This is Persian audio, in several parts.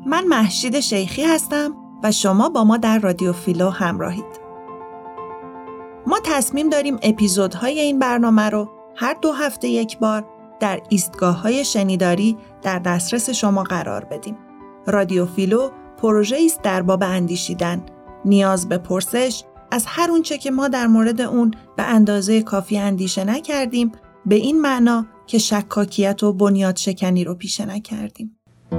من مهشید شیخی هستم و شما با ما در رادیو فیلو همراهید. ما تصمیم داریم اپیزودهای این برنامه رو هر 2 هفته یک بار در ایستگاه‌های شنیداری در دسترس شما قرار بدیم. رادیو فیلو پروژه‌ای است در باب اندیشیدن، نیاز به پرسش از هر اونچه که ما در مورد اون به اندازه کافی اندیشه نکردیم، به این معنا که شکاکیت و بنیاد شکنی رو پیشه نکردیم.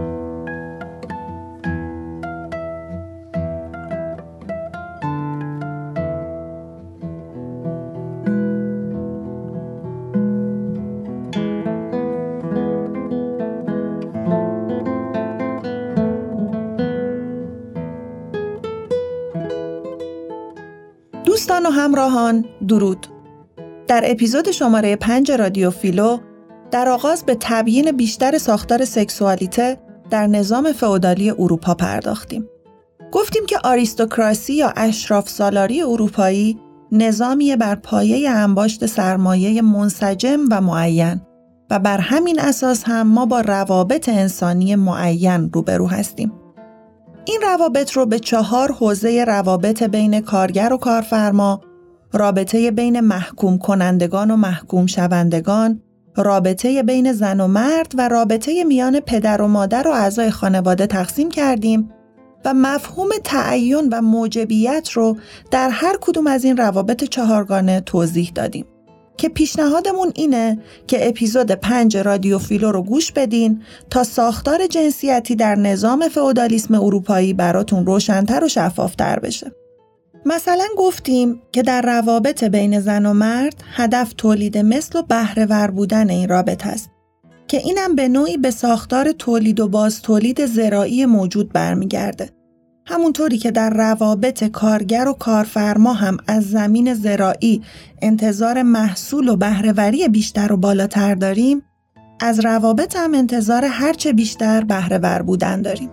دوستان و همراهان، درود. در اپیزود شماره 5 رادیو فیلو در آغاز به تبیین بیشتر ساختار سکسوالیته در نظام فئودالی اروپا پرداختیم. گفتیم که آریستوکراسی یا اشراف سالاری اروپایی نظامی بر پایه انباشت سرمایه منسجم و معین و بر همین اساس هم ما با روابط انسانی معین روبرو هستیم. این روابط رو به 4 حوزه روابط بین کارگر و کارفرما، رابطه بین محکوم کنندگان و محکوم شوندگان، رابطه بین زن و مرد و رابطه میان پدر و مادر و اعضای خانواده تقسیم کردیم و مفهوم تعین و موجبیت رو در هر کدوم از این روابط 4گانه توضیح دادیم که پیشنهادمون اینه که اپیزود 5 رادیو فیلو رو گوش بدین تا ساختار جنسیتی در نظام فئودالیسم اروپایی براتون روشن‌تر و شفاف‌تر بشه. مثلا گفتیم که در روابط بین زن و مرد هدف تولید مثل و بهره‌ور بودن این رابطه است که اینم به نوعی به ساختار تولید و باز تولید زراعی موجود برمیگرده. همونطوری که در روابط کارگر و کارفرما هم از زمین زراعی انتظار محصول و بهره‌وری بیشتر و بالاتر داریم، از روابط هم انتظار هرچه بیشتر بهره‌ور بودن داریم.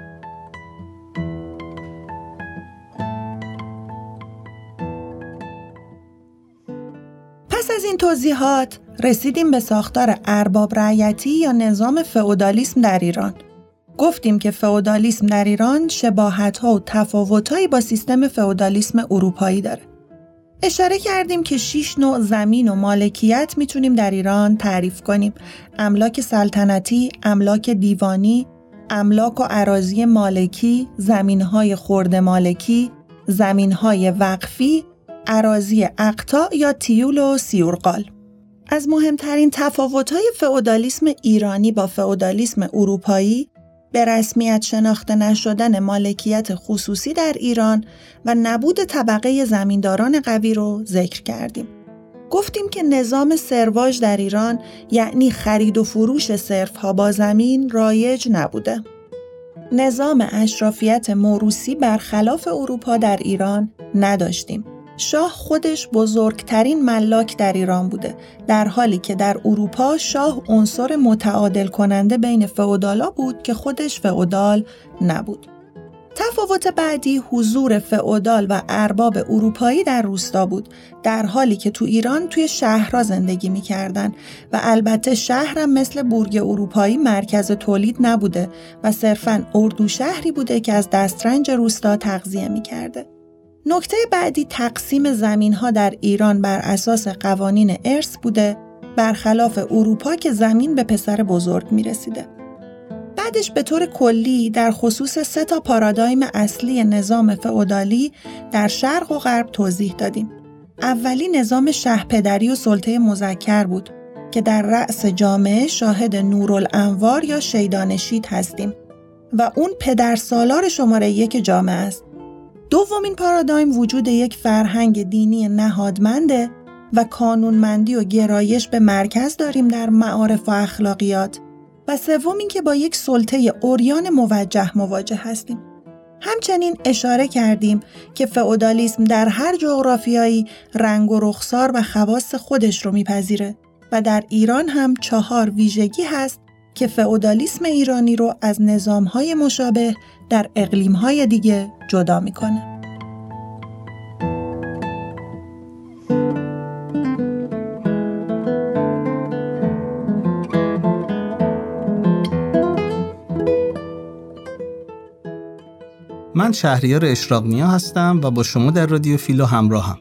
پس از این توضیحات رسیدیم به ساختار ارباب رعیتی یا نظام فئودالیسم در ایران. گفتیم که فئودالیسم در ایران شباهت‌ها و تفاوت‌هایی با سیستم فئودالیسم اروپایی داره. اشاره کردیم که 6 نوع زمین و مالکیت میتونیم در ایران تعریف کنیم: املاک سلطنتی، املاک دیوانی، املاک و اراضی مالکی، زمین‌های خرده مالکی، زمین‌های وقفی، اراضی اقطاع یا تیول و سیورقال. از مهمترین تفاوت‌های فئودالیسم ایرانی با فئودالیسم اروپایی به رسمیت شناخته نشدن مالکیت خصوصی در ایران و نبود طبقه زمینداران قوی رو ذکر کردیم. گفتیم که نظام سرواژ در ایران یعنی خرید و فروش صرف‌ها با زمین رایج نبوده. نظام اشرافیت موروثی برخلاف اروپا در ایران نداشتیم. شاه خودش بزرگترین ملاک در ایران بوده، در حالی که در اروپا شاه عنصر متعادل کننده بین فئودالا بود که خودش فئودال نبود. تفاوت بعدی حضور فئودال و ارباب اروپایی در روستا بود، در حالی که تو ایران توی شهرها زندگی می‌کردن و البته شهرم مثل بورگ اروپایی مرکز تولید نبوده و صرفاً اردو شهری بوده که از دسترنج روستا تغذیه می‌کرده. نکته بعدی تقسیم زمین‌ها در ایران بر اساس قوانین ارث بوده، برخلاف اروپا که زمین به پسر بزرگ می‌رسیده. بعدش به طور کلی در خصوص 3 پارادایم اصلی نظام فئودالی در شرق و غرب توضیح دادیم. اولی نظام شهپدری و سلطه مذکر بود که در رأس جامعه شاهد نورالانوار یا شیدانشید هستیم و اون پدرسالار شماره 1 جامعه است. دومین پارادایم وجود یک فرهنگ دینی نهادمنده و قانونمندی و گرایش به مرکز داریم در معارف و اخلاقیات و سوم این که با یک سلطه عریان موجه مواجه هستیم. همچنین اشاره کردیم که فئودالیسم در هر جغرافیایی رنگ و رخسار و خواص خودش رو میپذیره و در ایران هم 4 ویژگی هست که فئودالیسم ایرانی رو از نظام‌های مشابه در اقلیم‌های دیگه جدا میکنه. من شهریار اشراق‌نیا هستم و با شما در رادیو فیلو همراهم.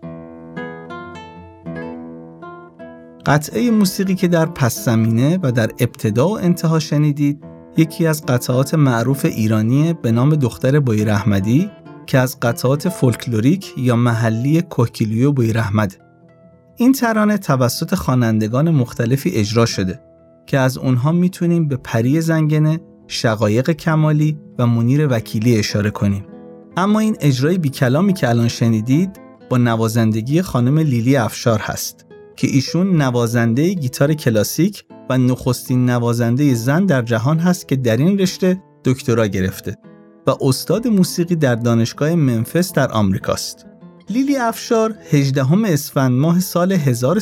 قطعه موسیقی که در پس زمینه و در ابتدا و انتها شنیدید یکی از قطعات معروف ایرانی به نام دختر بویراحمدی که از قطعات فولکلوریک یا محلی کوکیلیو بویراحمد. این ترانه توسط خوانندگان مختلفی اجرا شده که از اونها میتونیم به پری زنگنه، شقایق کمالی و منیر وکیلی اشاره کنیم. اما این اجرای بی کلامی که الان شنیدید با نوازندگی خانم لیلی افشار هست که ایشون نوازنده گیتار کلاسیک و نخستین نوازنده زن در جهان هست که در این رشته دکترا گرفته و استاد موسیقی در دانشگاه منفس در آمریکاست. لیلی افشار 18 اسفند ماه سال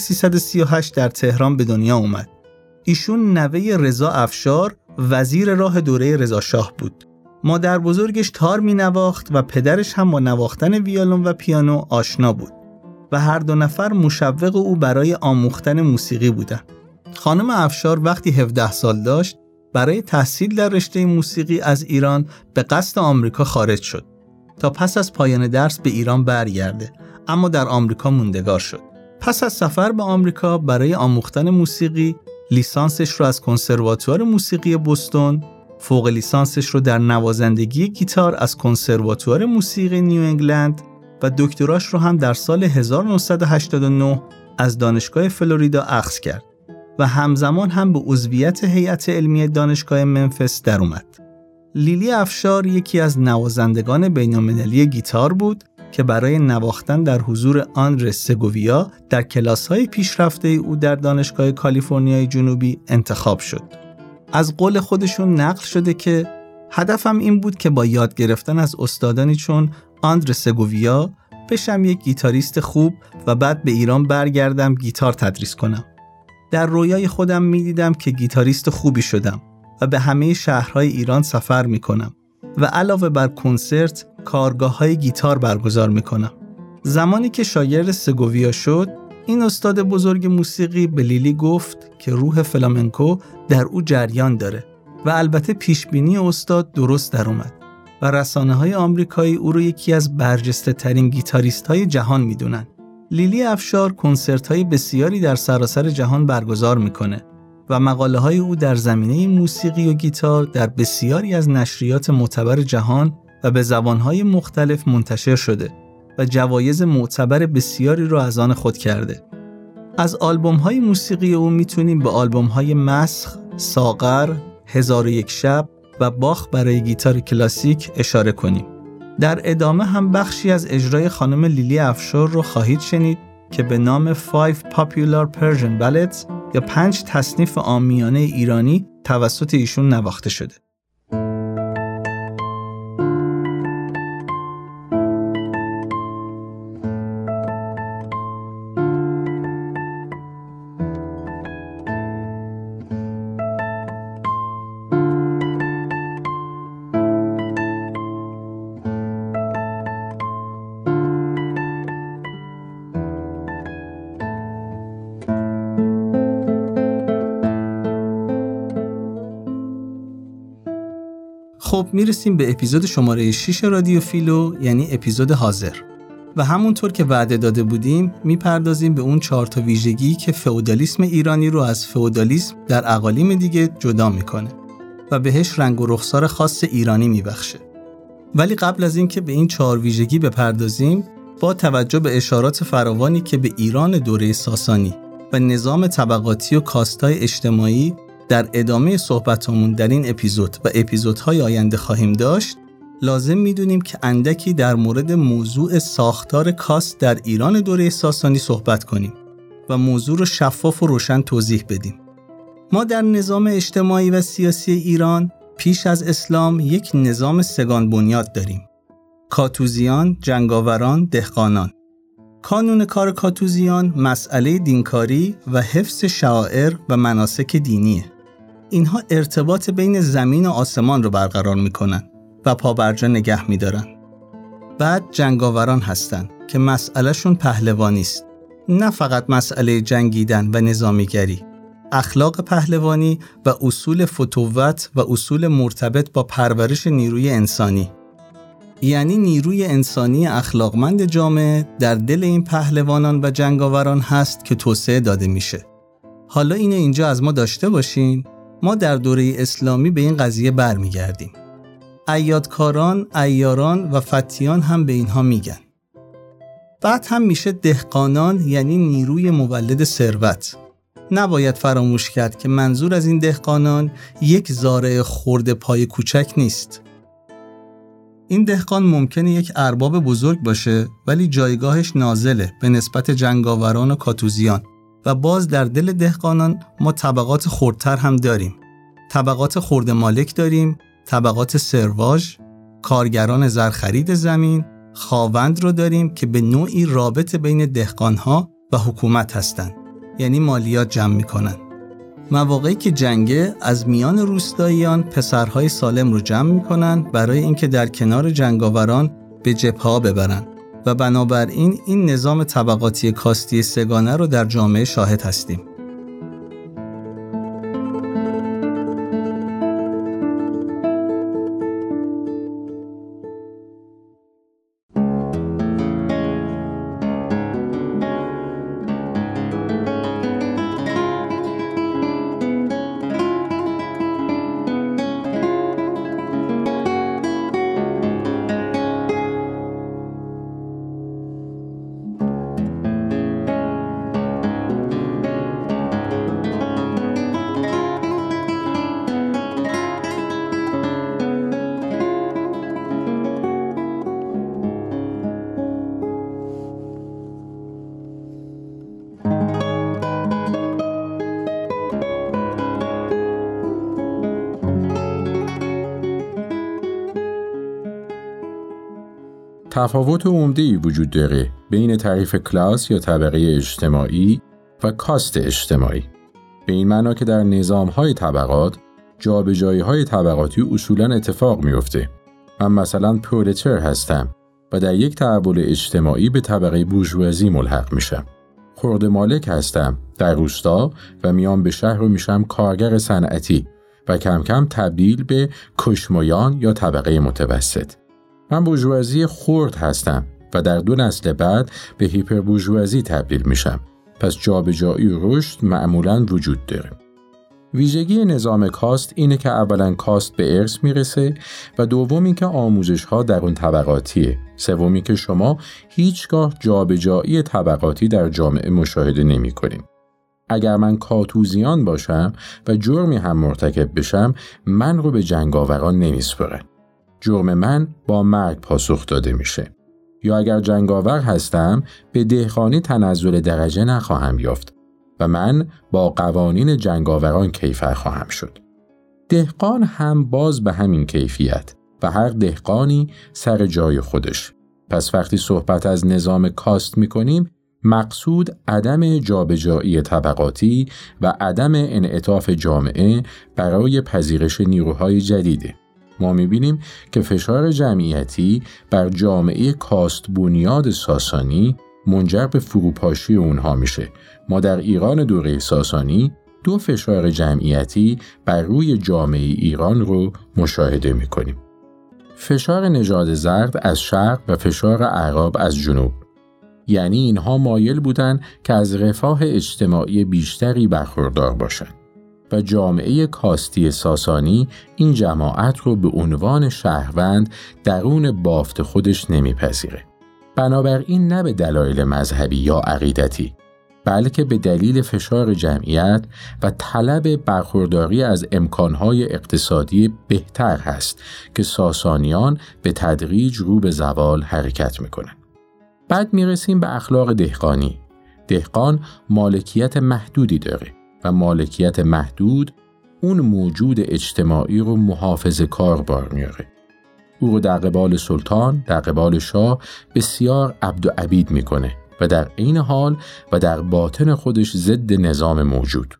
1338 در تهران به دنیا اومد. ایشون نوه رضا افشار وزیر راه دوره رضا شاه بود. مادر بزرگش تار می نواخت و پدرش هم با نواختن ویولن و پیانو آشنا بود و هر دو نفر مشوق او برای آموختن موسیقی بودند. خانم افشار وقتی 17 سال داشت برای تحصیل در رشته موسیقی از ایران به قصد آمریکا خارج شد تا پس از پایان درس به ایران برگرده، اما در آمریکا موندگار شد. پس از سفر به آمریکا برای آموختن موسیقی لیسانسش رو از کنسرواتوار موسیقی بوستون، فوق لیسانسش رو در نوازندگی گیتار از کنسرواتوار موسیقی نیو انگلند و دکتراش رو هم در سال 1989 از دانشگاه فلوریدا اخذ کرد و همزمان هم به عضویت هیئت علمی دانشگاه منفس در اومد. لیلی افشار یکی از نوازندگان بین‌المللی گیتار بود که برای نواختن در حضور آندره سگوویا در کلاس‌های پیشرفته او در دانشگاه کالیفرنیای جنوبی انتخاب شد. از قول خودشون نقل شده که هدفم این بود که با یاد گرفتن از استادانی چون آندره سگوویا بشم یک گیتاریست خوب و بعد به ایران برگردم گیتار تدریس کنم. در رویای خودم می‌دیدم که گیتاریست خوبی شدم و به همه شهرهای ایران سفر می‌کنم و علاوه بر کنسرت کارگاه‌های گیتار برگزار می‌کنم. زمانی که شاگرد سگوویا شد، این استاد بزرگ موسیقی به لیلی گفت که روح فلامنکو در او جریان داره و البته پیشبینی استاد درست در اومد و رسانه‌های آمریکایی او رو یکی از برجسته‌ترین گیتاریست‌های جهان می‌دونن. لیلی افشار کنسرت‌های بسیاری در سراسر جهان برگزار می‌کنه و مقاله‌های او در زمینه موسیقی و گیتار در بسیاری از نشریات معتبر جهان و به زبان‌های مختلف منتشر شده و جوایز معتبر بسیاری رو از آن خود کرده. از آلبوم‌های موسیقی او میتونیم به آلبوم‌های مسخ، ساغر، 1001 شب و باخ برای گیتار کلاسیک اشاره کنیم. در ادامه هم بخشی از اجرای خانم لیلی افشار رو خواهید شنید که به نام 5 Popular Persian Ballads یا 5 تصنیف عامیانه ایرانی توسط ایشون نواخته شده. خب میرسیم به اپیزود شماره 6 رادیو فیلو، یعنی اپیزود حاضر. و همونطور که وعده داده بودیم میپردازیم به اون 4 تا ویژگی که فئودالیسم ایرانی رو از فئودالیسم در اقالیم دیگه جدا میکنه و بهش رنگ و رخسار خاص ایرانی میبخشه. ولی قبل از این که به این 4 ویژگی بپردازیم، با توجه به اشارات فراوانی که به ایران دوره ساسانی و نظام طبقاتی و کاستای اجتماعی در ادامه صحبتامون در این اپیزود و اپیزودهای آینده خواهیم داشت، لازم میدونیم که اندکی در مورد موضوع ساختار کاست در ایران دوره ساسانی صحبت کنیم و موضوع رو شفاف و روشن توضیح بدیم. ما در نظام اجتماعی و سیاسی ایران پیش از اسلام یک نظام سگان بنیاد داریم: کاتوزیان، جنگاوران، دهقانان. کانون کار کاتوزیان مسئله دینکاری و حفظ شعائر و مناسک دینیه. اینها ارتباط بین زمین و آسمان رو برقرار میکنن و پابرجا نگه میدارن. بعد جنگاوران هستن که مسئلهشون پهلوانی است. نه فقط مسئله جنگیدن و نظامیگری، اخلاق پهلوانی و اصول فتوت و اصول مرتبط با پرورش نیروی انسانی. یعنی نیروی انسانی اخلاقمند جامعه در دل این پهلوانان و جنگاوران هست که توسعه داده میشه. حالا اینو اینجا از ما داشته باشین، ما در دوره اسلامی به این قضیه برمیگردیم. عیادکاران، عیاران و فتیان هم به اینها میگن. بعد هم میشه دهقانان، یعنی نیروی مولد ثروت. نباید فراموش کرد که منظور از این دهقانان یک زارع خرد پای کوچک نیست. این دهقان ممکنه یک ارباب بزرگ باشه ولی جایگاهش نازله به نسبت جنگاوران و کاتوزیان. و باز در دل دهقانان ما طبقات خردتر هم داریم. طبقات خرد مالک داریم، طبقات سرواژ، کارگران زرخرید زمین، خاوند رو داریم که به نوعی رابط بین دهقانها و حکومت هستند، یعنی مالیات جمع میکنن. مواقعی که جنگه از میان روستاییان پسرهای سالم رو جمع میکنن برای اینکه در کنار جنگاوران به جبهه‌ها ببرن و بنابراین این نظام طبقاتی کاستی سگانه رو در جامعه شاهد هستیم. تفاوت عمده‌ای وجود داره بین تعریف کلاس یا طبقه اجتماعی و کاست اجتماعی. به این معنا که در نظام‌های طبقات جابجایی‌های طبقاتی اصولاً اتفاق میفته. من مثلا پرولتر هستم و در یک تحول اجتماعی به طبقه بورژوازی ملحق میشم. خرد مالک هستم در روستا و میام به شهر و میشم کارگر صنعتی و کم کم تبدیل به کشمویان یا طبقه متوسط. من بورژوازی خرد هستم و در 2 نسل بعد به هیپر بورژوازی تبدیل میشم. پس جابجایی و رشد معمولاً وجود داره. ویژگی نظام کاست اینه که اولاً کاست به ارث میرسه و دومی که آموزش‌ها در اون طبقاتیه. سومی که شما هیچگاه جابجایی طبقاتی در جامعه مشاهده نمی‌کنید. اگر من کاتوزیان باشم و جرمی هم مرتکب بشم، من رو به جنگاوران نمیسپارن. جرم من با مرگ پاسخ داده میشه. یا اگر جنگاور هستم به دهقانی تنزل درجه نخواهم یافت و من با قوانین جنگاوران کیفر خواهم شد. دهقان هم باز به همین کیفیت و هر دهقانی سر جای خودش. پس وقتی صحبت از نظام کاست میکنیم مقصود عدم جابجایی طبقاتی و عدم انعطاف جامعه برای پذیرش نیروهای جدیده. ما می‌بینیم که فشار جمعیتی بر جامعه کاست بنیاد ساسانی منجر به فروپاشی اونها میشه. ما در ایران دوره ساسانی 2 فشار جمعیتی بر روی جامعه ایران رو مشاهده می‌کنیم. فشار نژاد زرد از شرق و فشار اعراب از جنوب. یعنی اینها مایل بودن که از رفاه اجتماعی بیشتری برخوردار باشند. و جامعه کاستی ساسانی این جماعت رو به عنوان شهروند درون بافت خودش نمیپذیره. بنابراین نه به دلایل مذهبی یا عقیدتی، بلکه به دلیل فشار جمعیت و طلب برخورداری از امکانهای اقتصادی بهتر هست که ساسانیان به تدریج رو به زوال حرکت میکنن. بعد میرسیم به اخلاق دهقانی. دهقان مالکیت محدودی داره و مالکیت محدود اون موجود اجتماعی رو محافظه کار بار میاره. او رو در قبال سلطان، در قبال شاه بسیار عبد و عبید میکنه و در عین حال و در باطن خودش ضد نظام موجود.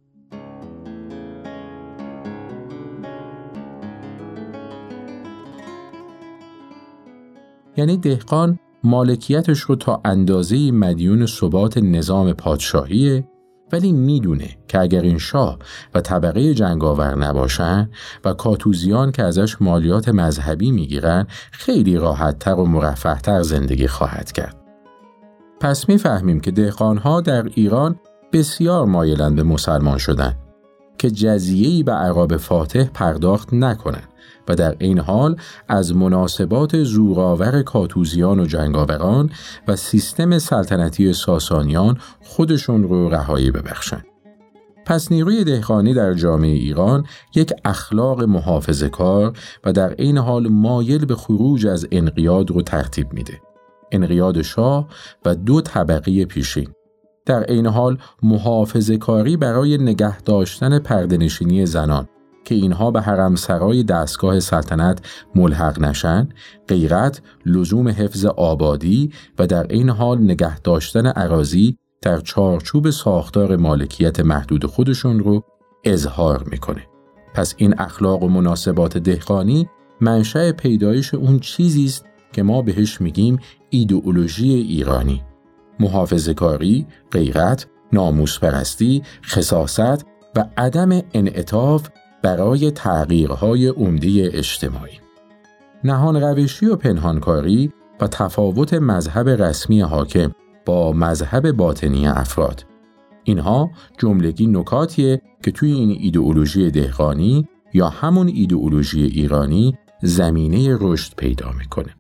یعنی دهقان مالکیتش رو تا اندازه‌ای مدیون ثبات نظام پادشاهیه ولی میدونه که اگر این شاه و طبقه جنگاور نباشن و کاتوزیان که ازش مالیات مذهبی میگیرن خیلی راحت‌تر و مرفه‌تر زندگی خواهد کرد. پس میفهمیم که دهقانها در ایران بسیار مایلند به مسلمان شدن که جزیه‌ای به اعراب فاتح پرداخت نکنن و در این حال از مناسبات زورآور کاتوزیان و جنگاوران و سیستم سلطنتی ساسانیان خودشون رو رهایی ببخشن. پس نیروی دهقانی در جامعه ایران یک اخلاق محافظه‌کار و در این حال مایل به خروج از انقیاد رو ترتیب میده. انقیاد شاه و دو طبقه پیشین. در این حال محافظه‌کاری برای نگه داشتن پرده‌نشینی زنان که اینها به حرمسرای دستگاه سلطنت ملحق نشن، غیرت، لزوم حفظ آبادی و در این حال نگه داشتن اراضی در چارچوب ساختار مالکیت محدود خودشون رو اظهار میکنه. پس این اخلاق و مناسبات دهقانی منشأ پیدایش اون چیزی است که ما بهش میگیم ایدئولوژی ایرانی. محافظه‌کاری، غیرت، ناموس‌پرستی، خساست و عدم انعطاف برای تغییرهای عمده اجتماعی. نهان روشی و پنهانکاری و تفاوت مذهب رسمی حاکم با مذهب باطنی افراد. اینها جملگی نکاتیه که توی این ایدئولوژی دهقانی یا همون ایدئولوژی ایرانی زمینه رشد پیدا میکنه.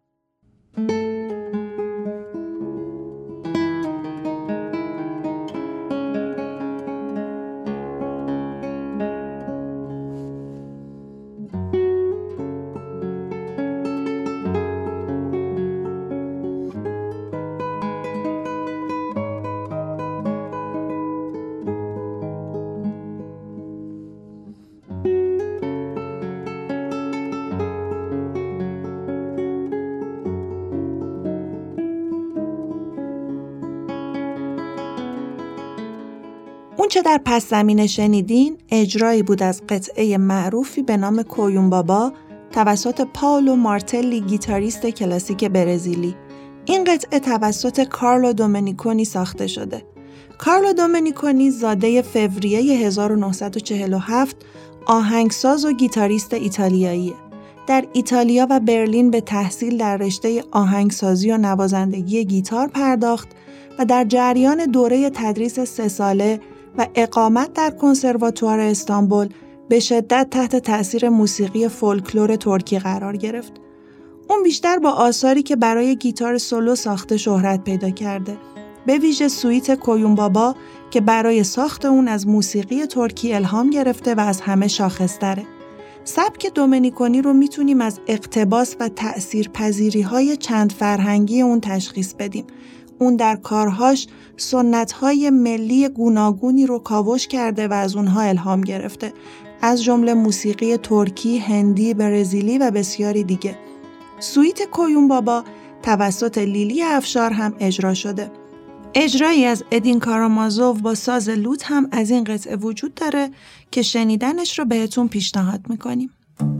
اون چه در پس زمینه شنیدین اجرایی بود از قطعه معروفی به نام کویون بابا توسط پائولو مارتلی، گیتاریست کلاسیک برزیلی. این قطعه توسط کارلو دومنیکونی ساخته شده. کارلو دومنیکونی زاده فوریه 1947 آهنگساز و گیتاریست ایتالیاییه. در ایتالیا و برلین به تحصیل در رشته آهنگسازی و نوازندگی گیتار پرداخت و در جریان دوره تدریس 3 ساله و اقامت در کنسرواتوار استانبول به شدت تحت تأثیر موسیقی فولکلور ترکی قرار گرفت. اون بیشتر با آثاری که برای گیتار سولو ساخته شهرت پیدا کرده، به ویژه سویت کویون بابا که برای ساخت اون از موسیقی ترکی الهام گرفته و از همه شاخص‌تره. سبک دومنیکونی رو میتونیم از اقتباس و تأثیرپذیری‌های چند فرهنگی اون تشخیص بدیم. اون در کارهاش سنت‌های ملی گوناگونی رو کاوش کرده و از اونها الهام گرفته، از جمله موسیقی ترکی، هندی، برزیلی و بسیاری دیگه. سویت کویون بابا توسط لیلی افشار هم اجرا شده. اجرایی از ادین کارامازوف با ساز لوت هم از این قطعه وجود داره که شنیدنش رو بهتون پیشنهاد میکنیم.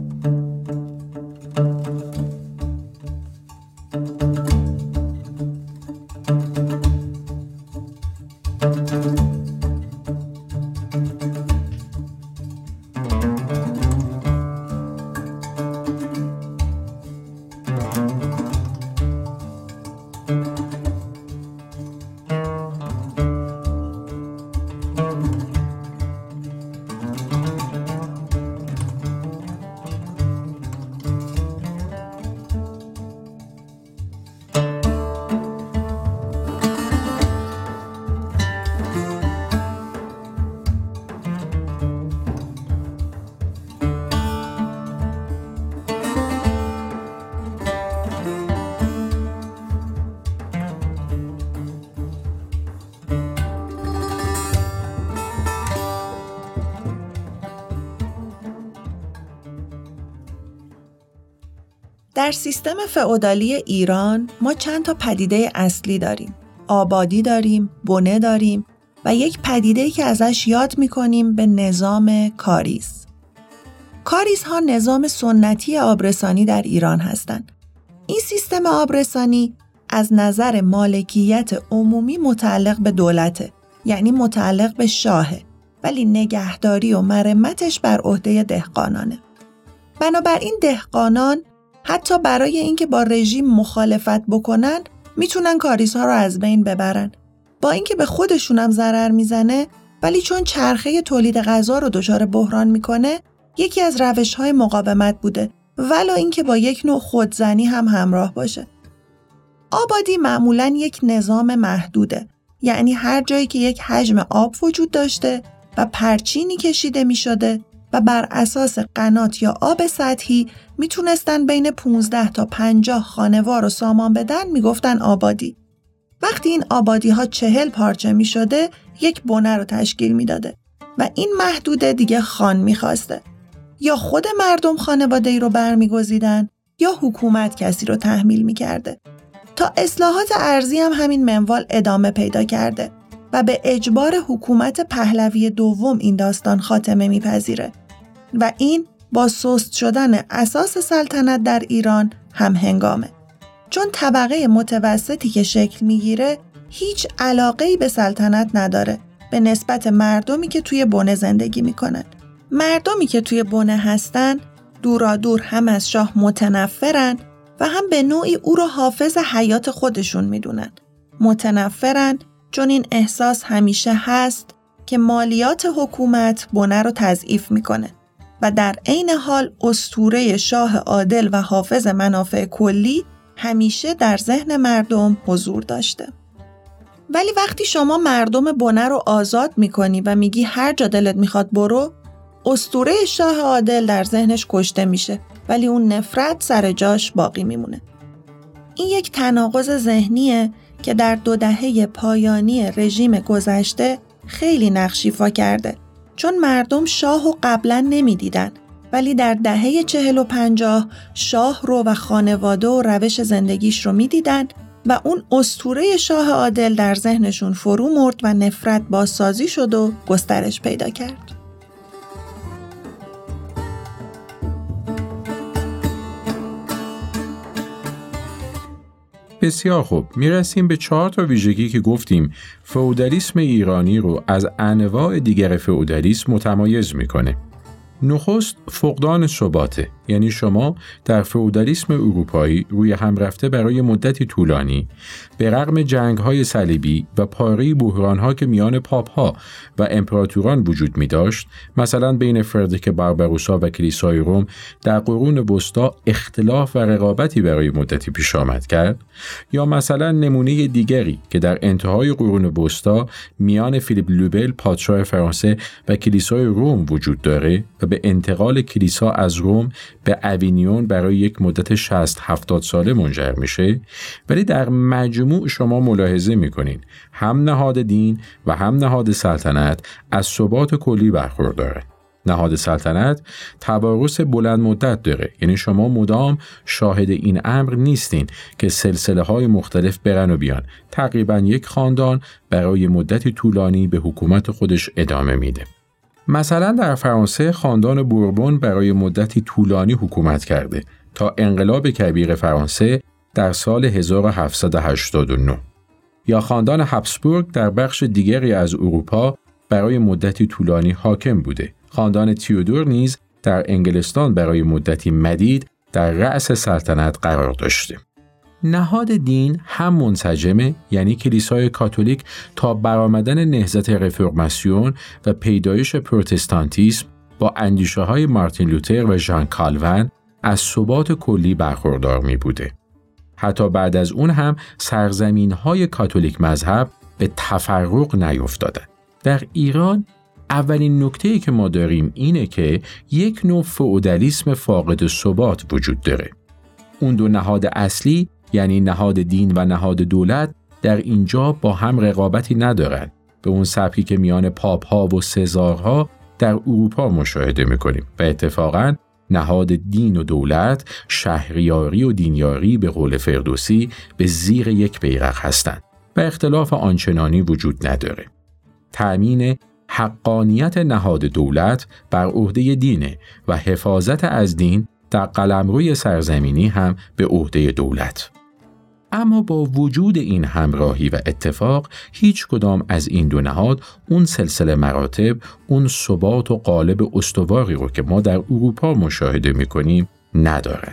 در سیستم فئودالی ایران ما چند تا پدیده اصلی داریم. آبادی داریم، بنه داریم و یک پدیده‌ای که ازش یاد می‌کنیم به نظام کاریز. کاریزها نظام سنتی آبرسانی در ایران هستند. این سیستم آبرسانی از نظر مالکیت عمومی متعلق به دولته یعنی متعلق به شاهه، ولی نگهداری و مرمتش بر عهده دهقانانه. بنابراین دهقانان حتی برای اینکه با رژیم مخالفت بکنن میتونن کاریزها رو از بین ببرن. با اینکه به خودشونم ضرر میزنه، ولی چون چرخه تولید غذا رو دچار بحران میکنه، یکی از روش‌های مقاومت بوده، ولو اینکه با یک نوع خودزنی هم همراه باشه. آبادی معمولاً یک نظام محدوده، یعنی هر جایی که یک حجم آب وجود داشته و پرچینی کشیده می شده و بر اساس قنات یا آب سطحی میتونستن بین 15 تا 50 خانوار رو سامان بدن، میگفتن آبادی. وقتی این آبادی ها 40 پارچه می شده، یک بنه رو تشکیل می داده و این محدوده دیگه خان می خواسته. یا خود مردم خانواده ای رو برمیگزیدن یا حکومت کسی رو تحمیل می کرده. تا اصلاحات ارضی هم همین منوال ادامه پیدا کرده و به اجبار حکومت پهلوی دوم این داستان خاتمه میپذیره و این با سست شدن اساس سلطنت در ایران هم هنگامه. چون طبقه متوسطی که شکل میگیره هیچ علاقه‌ای به سلطنت نداره به نسبت مردمی که توی بنه زندگی میکنن. مردمی که توی بنه هستن دورادور هم از شاه متنفرن و هم به نوعی او رو حافظ حیات خودشون میدونن. متنفرن چون این احساس همیشه هست که مالیات حکومت بنه رو تضعیف میکنه و در عین حال اسطوره شاه عادل و حافظ منافع کلی همیشه در ذهن مردم حضور داشته. ولی وقتی شما مردم بنه رو آزاد میکنی و میگی هر جا دلت میخواد برو، اسطوره شاه عادل در ذهنش کشته میشه ولی اون نفرت سر جاش باقی میمونه. این یک تناقض ذهنیه که در 2 دهه پایانی رژیم گذشته خیلی نقش ایفا کرده، چون مردم شاهو قبلا نمیدیدن ولی در دهه 40 و 50 شاه رو و خانواده و روش زندگیش رو میدیدن و اون اسطوره شاه عادل در ذهنشون فرو مرد و نفرت بازسازی شد و گسترش پیدا کرد. بسیار خوب، میرسیم به 4 تا ویژگی که گفتیم فئودالیسم ایرانی رو از انواع دیگر فئودالیسم متمایز میکنه. نخست فقدان ثباته، یعنی شما در فئودالیسم اروپایی روی هم رفته برای مدتی طولانی به رغم جنگ‌های صلیبی و پاره بحران‌ها که میان پاپ‌ها و امپراتوران وجود می‌داشت، مثلا بین فردریک بارباروسا و کلیسای روم در قرون وسطا اختلاف و رقابتی برای مدتی پیش آمد کرد، یا مثلا نمونه دیگری که در انتهای قرون وسطا میان فیلیپ لوبل پادشاه فرانسه و کلیسای روم وجود داره و به انتقال کلیسا از روم به اوینیون برای یک مدت 60-70 ساله منجر میشه، ولی در مجموع شما ملاحظه میکنین هم نهاد دین و هم نهاد سلطنت از ثبات کلی برخورداره. نهاد سلطنت توارث بلند مدت داره، یعنی شما مدام شاهد این امر نیستین که سلسله های مختلف برن و بیان. تقریبا یک خاندان برای مدتی طولانی به حکومت خودش ادامه میده. مثلا در فرانسه خاندان بوربون برای مدتی طولانی حکومت کرده تا انقلاب کبیر فرانسه در سال 1789. یا خاندان هابسبورگ در بخش دیگری از اروپا برای مدتی طولانی حاکم بوده. خاندان تیودور نیز در انگلستان برای مدتی مدید در رأس سلطنت قرار داشته. نهاد دین هم منسجمه، یعنی کلیسای کاتولیک تا برآمدن نهضت رفرماسیون و پیدایش پروتستانتیسم با اندیشه‌های مارتین لوتر و ژان کالوین از ثبات کلی برخوردار می بوده. حتی بعد از اون هم سرزمین‌های کاتولیک مذهب به تفرق نیفتادند. در ایران اولین نکته‌ای که ما داریم اینه که یک نوع فئودالیسم فاقد ثبات وجود داره. اون 2 نهاد اصلی، یعنی نهاد دین و نهاد دولت، در اینجا با هم رقابتی ندارن، به اون سبکی که میان پاپ‌ها و سزارها در اروپا مشاهده می‌کنیم. و اتفاقاً نهاد دین و دولت، شهریاری و دینیاری به قول فردوسی به زیر یک بیرق هستند و اختلاف آنچنانی وجود نداره. تأمین حقانیت نهاد دولت بر عهده دینه و حفاظت از دین در قلمروی سرزمینی هم به عهده دولت. اما با وجود این همراهی و اتفاق، هیچ کدام از این دو نهاد اون سلسله مراتب، اون ثبات و قالب استواری رو که ما در اروپا مشاهده می‌کنیم ندارد.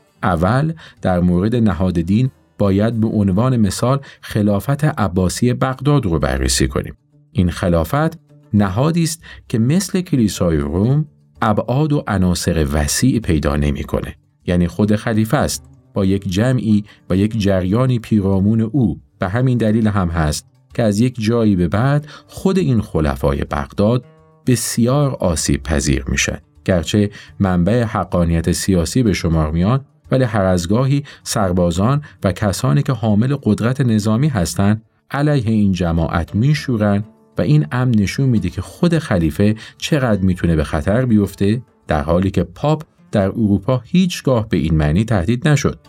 اول در مورد نهاد دین باید به عنوان مثال خلافت عباسی بغداد رو بررسی کنیم. این خلافت نهادی است که مثل کلیسای روم ابعاد و عناصر وسیع پیدا نمی‌کنه. یعنی خود خلیفه است با یک جمعی و یک جریانی پیرامون او. به همین دلیل هم هست که از یک جایی به بعد خود این خلفای بغداد بسیار آسیب پذیر میشن. گرچه منبع حقانیت سیاسی به شمار میان، ولی هر از گاهی سربازان و کسانی که حامل قدرت نظامی هستند علیه این جماعت میشورن و این امر نشون میده که خود خلیفه چقدر میتونه به خطر بیفته، در حالی که پاپ در اروپا هیچگاه به این معنی تهدید نشد.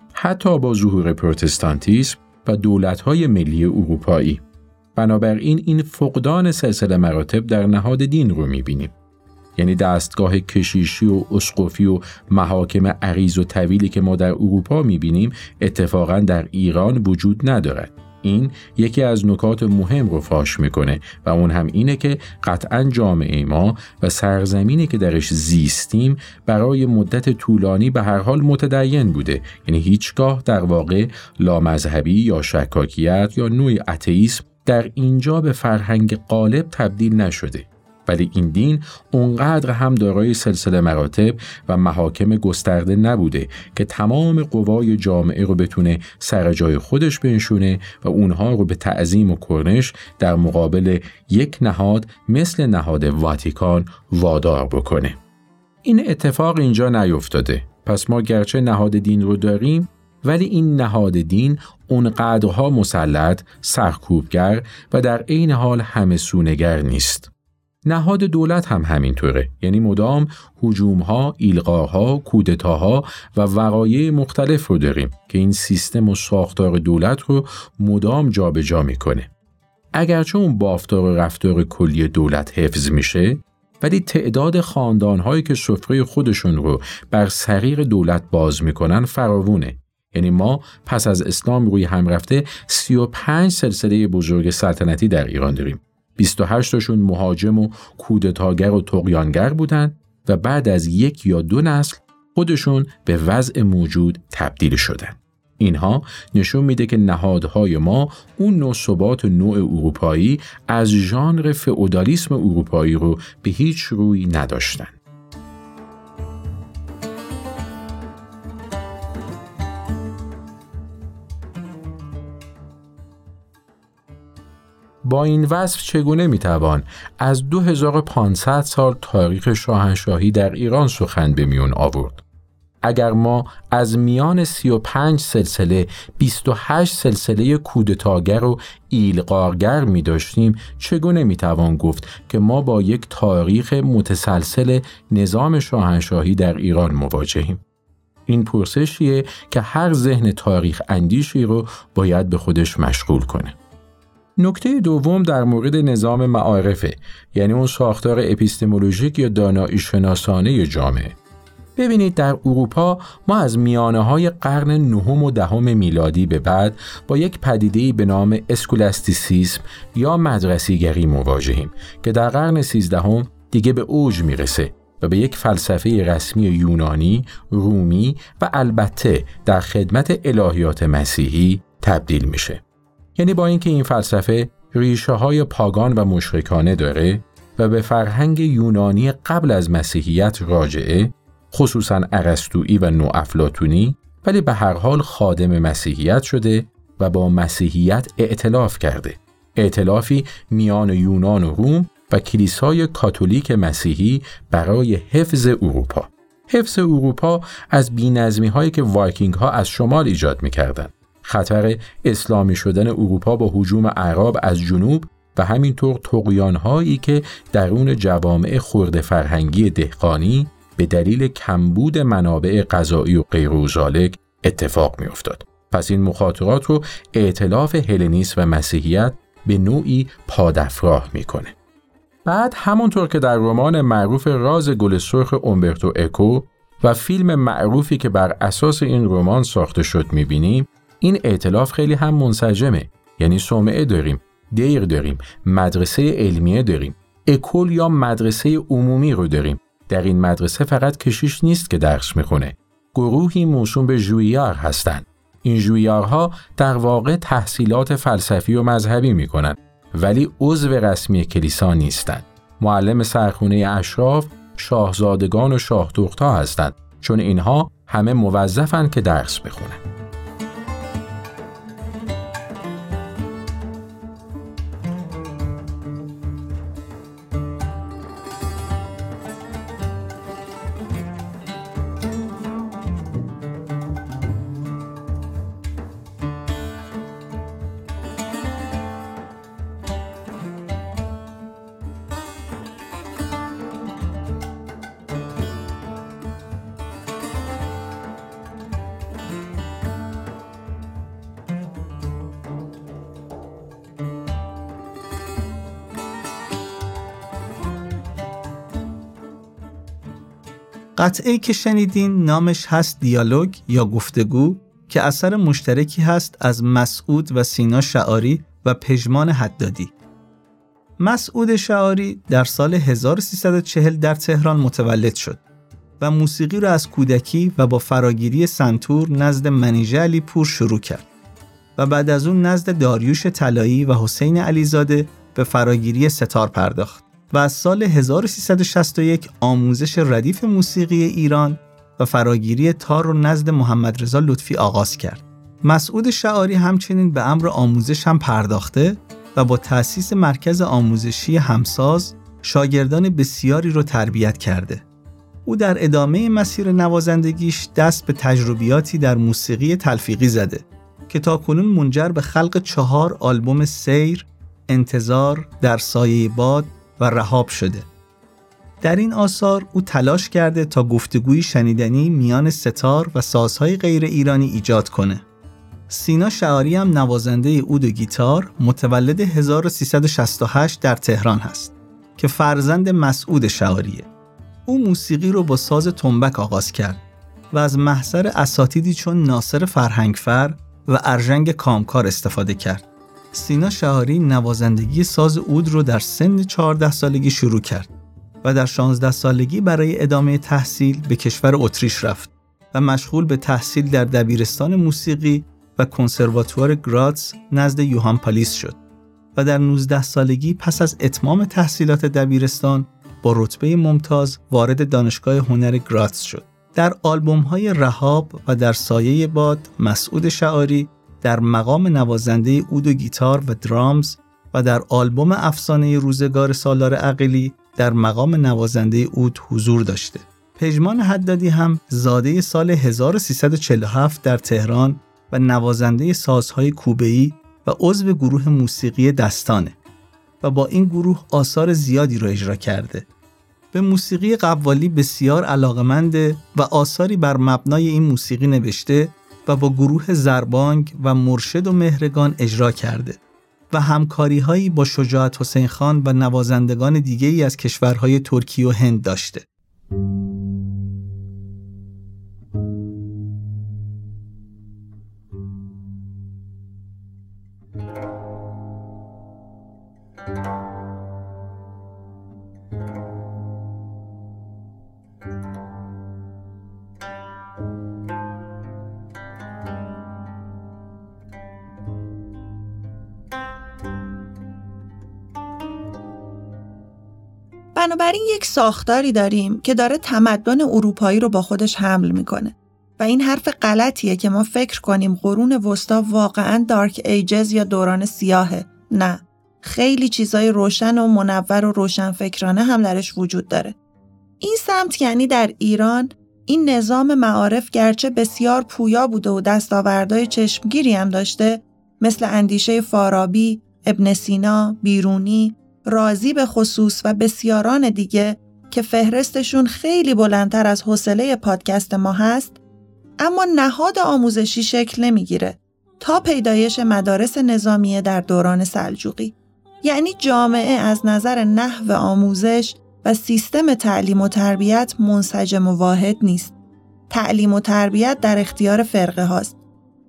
حتی با ظهور پروتستانتیسم و دولت‌های ملی اروپایی. بنابراین این فقدان سلسله مراتب در نهاد دین رو می‌بینیم. یعنی دستگاه کشیشی و اسقفی و محاکم عریض و طویلی که ما در اروپا می‌بینیم اتفاقاً در ایران وجود ندارد. این یکی از نکات مهم رو فاش میکنه و اون هم اینه که قطعاً جامعه ما و سرزمینی که درش زیستیم برای مدت طولانی به هر حال متدین بوده. یعنی هیچگاه در واقع لامذهبی یا شکاکیت یا نوعی اتئیسم در اینجا به فرهنگ غالب تبدیل نشده. ولی این دین اونقدر هم دارای سلسله مراتب و محاکم گسترده نبوده که تمام قوای جامعه رو بتونه سر جای خودش بنشونه و اونها رو به تعظیم و کرنش در مقابل یک نهاد مثل نهاد واتیکان وادار بکنه. این اتفاق اینجا نیفتاده. پس ما گرچه نهاد دین رو داریم، ولی این نهاد دین اونقدرها مسلط، سرکوبگر و در عین حال همه‌سونگر نیست. نهاد دولت هم همینطوره. یعنی مدام هجوم‌ها، ایلغاها، کودتاها و وقایع مختلف رو داریم که این سیستم و ساختار دولت رو مدام جابجا میکنه. اگرچه اون بافتار و رفتار کلی دولت حفظ میشه، ولی تعداد خاندان‌هایی که سفره خودشون رو بر سریر دولت باز میکنن فراوونه. یعنی ما پس از اسلام روی هم رفته 35 سلسله بزرگ سلطنتی در ایران داریم. 28 تاشون مهاجم و کودتاگر و طغیانگر بودن و بعد از 1 یا 2 نسل خودشون به وضع موجود تبدیل شدن. اینها نشون میده که نهادهای ما اون نوع ثبات نوع اروپایی از ژانر فئودالیسم اروپایی رو به هیچ روی نداشتن. با این وصف چگونه میتوان از 2500 سال تاریخ شاهنشاهی در ایران سخن به میون آورد؟ اگر ما از میان 35 سلسله 28 سلسله کودتاگر و ایلغارگر می داشتیم، چگونه میتوان گفت که ما با یک تاریخ متسلسل نظام شاهنشاهی در ایران مواجهیم؟ این پرسشیه که هر ذهن تاریخ اندیشی رو باید به خودش مشغول کنه. نکته دوم در مورد نظام معارفه، یعنی اون ساختار اپیستمولوژیک یا دانایی شناسانه جامعه. ببینید در اروپا ما از میانه‌های قرن 9 و 10 میلادی به بعد با یک پدیده‌ای به نام اسکولاستیسیسم یا مدرسیگری مواجهیم که در قرن 13 دیگه به اوج میرسه و به یک فلسفه رسمی یونانی، رومی و البته در خدمت الهیات مسیحی تبدیل میشه. یعنی با اینکه این فلسفه ریشه‌های پاگان و مشرکانه داره و به فرهنگ یونانی قبل از مسیحیت راجعه، خصوصاً ارسطویی و نوافلاطونی، ولی به هر حال خادم مسیحیت شده و با مسیحیت ائتلاف کرده. ائتلافی میان یونان و روم و کلیسای کاتولیک مسیحی برای حفظ اروپا. حفظ اروپا از بی‌نظمی‌هایی که وایکینگ‌ها از شمال ایجاد می‌کردند. خطر اسلامی شدن اروپا با هجوم اعراب از جنوب و همینطور طغیان‌هایی که درون جوامع خرد فرهنگی دهقانی به دلیل کمبود منابع غذایی و غیر ذالک اتفاق می‌افتاد. پس این مخاطرات رو ائتلاف هلنیسم و مسیحیت به نوعی پادافراه می‌کنه. بعد همونطور که در رمان معروف راز گل سرخ اومبرتو اکو و فیلم معروفی که بر اساس این رمان ساخته شد می‌بینیم، این ائتلاف خیلی هم منسجمه، یعنی صومعه داریم، دیر داریم، مدرسه علمیه داریم، اکول یا مدرسه عمومی رو داریم. در این مدرسه فقط کشیش نیست که درس میخونه. گروهی موسوم به ژویار هستند. این ژویارها در واقع تحصیلات فلسفی و مذهبی میکنن ولی عضو رسمی کلیسا نیستند. معلم سرخونه اشراف شاهزادگان و شاهدختها هستند، چون اینها همه موظفن که درس بخونن. قطعه‌ای که شنیدین نامش هست دیالوگ یا گفتگو که اثر مشترکی هست از مسعود و سینا شعاری و پژمان حدادی. مسعود شعاری در سال 1340 در تهران متولد شد و موسیقی را از کودکی و با فراگیری سنتور نزد منیژه علیپور شروع کرد و بعد از اون نزد داریوش طلایی و حسین علیزاده به فراگیری ستار پرداخت و از سال 1361 آموزش ردیف موسیقی ایران و فراگیری تار رو نزد محمد رضا لطفی آغاز کرد. مسعود شعاری همچنین به امر آموزش هم پرداخته و با تأسیس مرکز آموزشی همساز شاگردان بسیاری رو تربیت کرده. او در ادامه مسیر نوازندگیش دست به تجربیاتی در موسیقی تلفیقی زده که تاکنون منجر به خلق 4 آلبوم سیر، انتظار، در سایه باد و رهاب شده. در این آثار او تلاش کرده تا گفتگوی شنیدنی میان ستار و سازهای غیر ایرانی ایجاد کنه. سینا شعاری هم نوازنده عود و گیتار متولد 1368 در تهران هست که فرزند مسعود شعاریه. او موسیقی رو با ساز تنبک آغاز کرد و از محضر اساتیدی چون ناصر فرهنگفر و ارژنگ کامکار استفاده کرد. سینا شعاری نوازندگی ساز عود رو در سن 14 سالگی شروع کرد و در 16 سالگی برای ادامه تحصیل به کشور اتریش رفت و مشغول به تحصیل در دبیرستان موسیقی و کنسرواتوار گراتس نزد یوهان پالیس شد و در 19 سالگی پس از اتمام تحصیلات دبیرستان با رتبه ممتاز وارد دانشگاه هنر گراتس شد. در آلبوم‌های رهاب و در سایه باد مسعود شعاری در مقام نوازنده عود و گیتار و درامز و در آلبوم افسانه روزگار سالار عقیلی در مقام نوازنده عود حضور داشته. پژمان حدادی هم زاده سال 1347 در تهران و نوازنده سازهای کوبه‌ای و عضو گروه موسیقی دستانه و با این گروه آثار زیادی را اجرا کرده. به موسیقی قوالی بسیار علاقه‌منده و آثاری بر مبنای این موسیقی نوشته و با گروه زربانگ و مرشد و مهرگان اجرا کرده و همکاری‌هایی با شجاعت حسین خان و نوازندگان دیگه‌ای از کشورهای ترکیه و هند داشته. بنابراین یک ساختاری داریم که داره تمدن اروپایی رو با خودش حمل میکنه و این حرف غلطیه که ما فکر کنیم قرون وسطا واقعاً دارک ایجز یا دوران سیاهه. نه، خیلی چیزای روشن و منور و روشنفکرانه هم درش وجود داره. این سمت یعنی در ایران این نظام معارف گرچه بسیار پویا بوده و دستاوردهای چشمگیری هم داشته، مثل اندیشه فارابی، ابن سینا، بیرونی، رازی به خصوص و بسیاران دیگه که فهرستشون خیلی بلندتر از حوصله پادکست ما هست، اما نهاد آموزشی شکل نمیگیره تا پیدایش مدارس نظامیه در دوران سلجوقی. یعنی جامعه از نظر نحو آموزش و سیستم تعلیم و تربیت منسجم و واحد نیست. تعلیم و تربیت در اختیار فرقه هاست.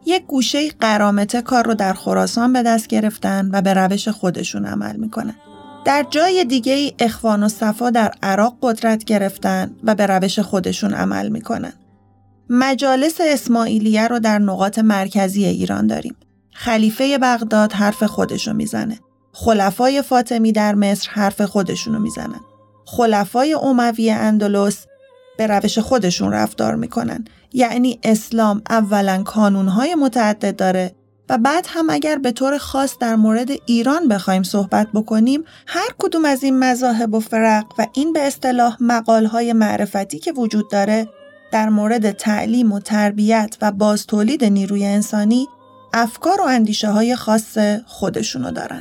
یک گوشه قرامته کار رو در خراسان به دست گرفتن و به روش خودشون عمل میکنن. در جای دیگه اخوان و صفا در عراق قدرت گرفتن و به روش خودشون عمل میکنن. مجالس اسماعیلیه رو در نقاط مرکزی ایران داریم. خلیفه بغداد حرف خودشو میزنه. خلفای فاطمی در مصر حرف خودشونو میزنن. خلفای اموی اندلس به روش خودشون رفتار میکنن. یعنی اسلام اولا کانونهای متعدد داره و بعد هم اگر به طور خاص در مورد ایران بخوایم صحبت بکنیم، هر کدوم از این مذاهب و فرق و این به اصطلاح مقالهای معرفتی که وجود داره در مورد تعلیم و تربیت و بازتولید نیروی انسانی افکار و اندیشه های خاص خودشونو دارن.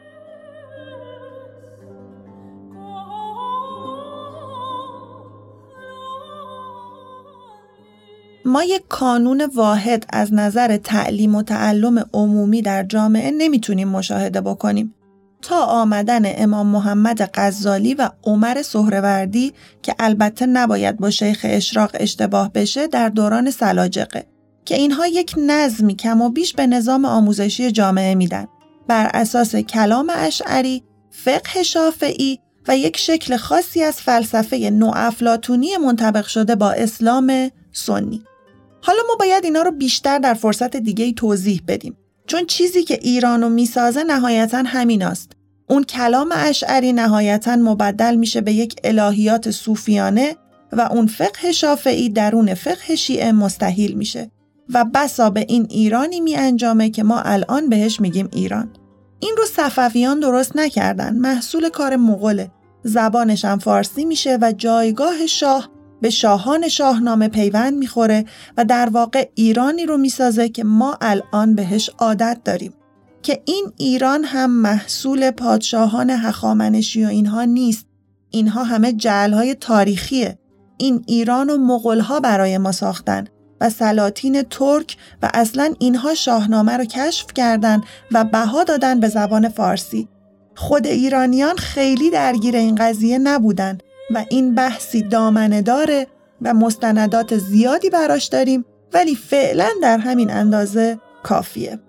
ما یک کانون واحد از نظر تعلیم و تعلم عمومی در جامعه نمیتونیم مشاهده بکنیم تا آمدن امام محمد غزالی و عمر سهروردی که البته نباید با شیخ اشراق اشتباه بشه در دوران سلاجقه که اینها یک نظمی کم و بیش به نظام آموزشی جامعه میدن بر اساس کلام اشعری، فقه شافعی و یک شکل خاصی از فلسفه نوافلاطونی منطبق شده با اسلام سنی. حالا ما باید اینا رو بیشتر در فرصت دیگه‌ای توضیح بدیم، چون چیزی که ایرانو میسازه نهایتاً همیناست. اون کلام اشعری نهایتاً مبدل میشه به یک الهیات صوفیانه و اون فقه شافعی درون فقه شیعه مستحیل میشه و بسا به این ایرانی می انجامه که ما الان بهش میگیم ایران. این رو صفویان درست نکردن، محصول کار مغوله. زبانش هم فارسی میشه و جایگاه شاه به شاهان شاهنامه پیوند میخوره و در واقع ایرانی رو میسازه که ما الان بهش عادت داریم. که این ایران هم محصول پادشاهان هخامنشی و اینها نیست. اینها همه جعل‌های تاریخیه. این ایران و مغول‌ها برای ما ساختن و سلاطین ترک و اصلاً اینها شاهنامه رو کشف کردن و بها دادن به زبان فارسی. خود ایرانیان خیلی درگیر این قضیه نبودن و این بحثی دامنه داره و مستندات زیادی براش داریم، ولی فعلاً در همین اندازه کافیه.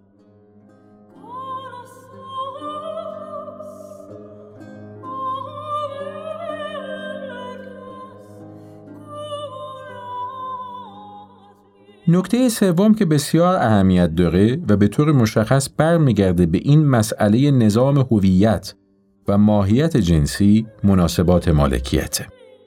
نکته سوم که بسیار اهمیت داره و به طور مشخص برمیگرده به این مسئله نظام هویت و ماهیت جنسی، مناسبات مالکیته.